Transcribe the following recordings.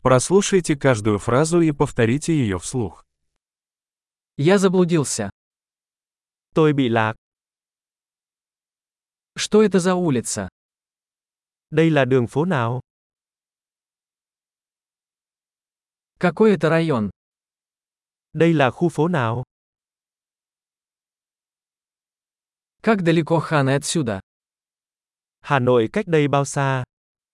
Прослушайте каждую фразу и повторите ее вслух. Я заблудился. Tôi bị lạc. Что это за улица? Đây là đường phố nào? Какой это район? Đây là khu phố nào? Как далеко Ханы отсюда? Hà Nội cách đây bao xa?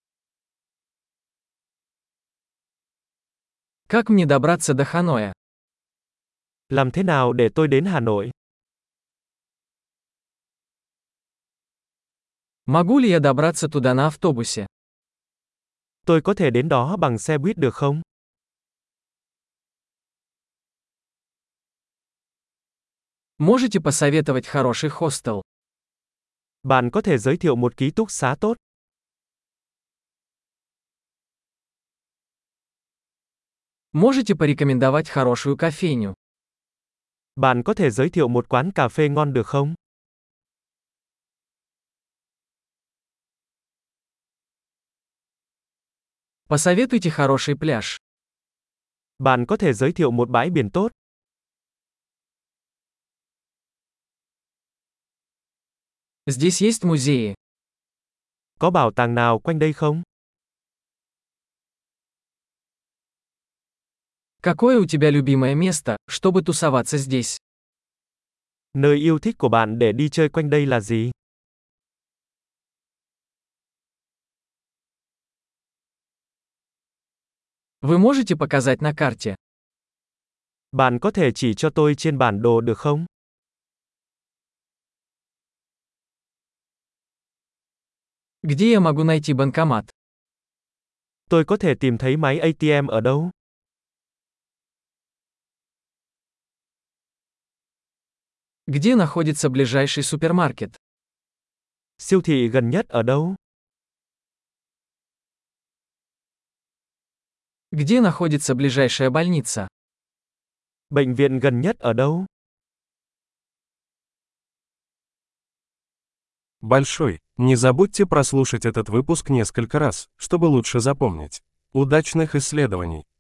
Как мне добраться до Ханоя? Làm thế nào để tôi đến Hà Nội? Могу ли я добраться туда на автобусе? Tôi có thể đến đó bằng xe buýt được không? Можете посоветовать хороший хостел? Bạn có thể giới thiệu một ký túc xá tốt. Можете порекомендовать хорошую кофейню? Bạn có thể giới thiệu một quán cà phê ngon được không? Посоветуйте хороший пляж. Bạn có thể giới thiệu một bãi biển tốt. Здесь есть музеи. Có bảo tàng nào quanh đây không? Какое у тебя любимое место, чтобы тусоваться здесь? Nơi yêu thích của bạn để đi chơi quanh đây là gì? Вы можете показать на карте? Bạn có thể chỉ cho tôi trên bản đồ được không? Где я могу найти банкомат? Tôi có thể tìm thấy máy ATM ở đâu? Где находится ближайший супермаркет? Siêu thị gần nhất ở đâu? Где находится ближайшая больница? Bệnh viện gần nhất ở đâu? Большой. Не забудьте прослушать этот выпуск несколько раз, чтобы лучше запомнить. Удачных исследований!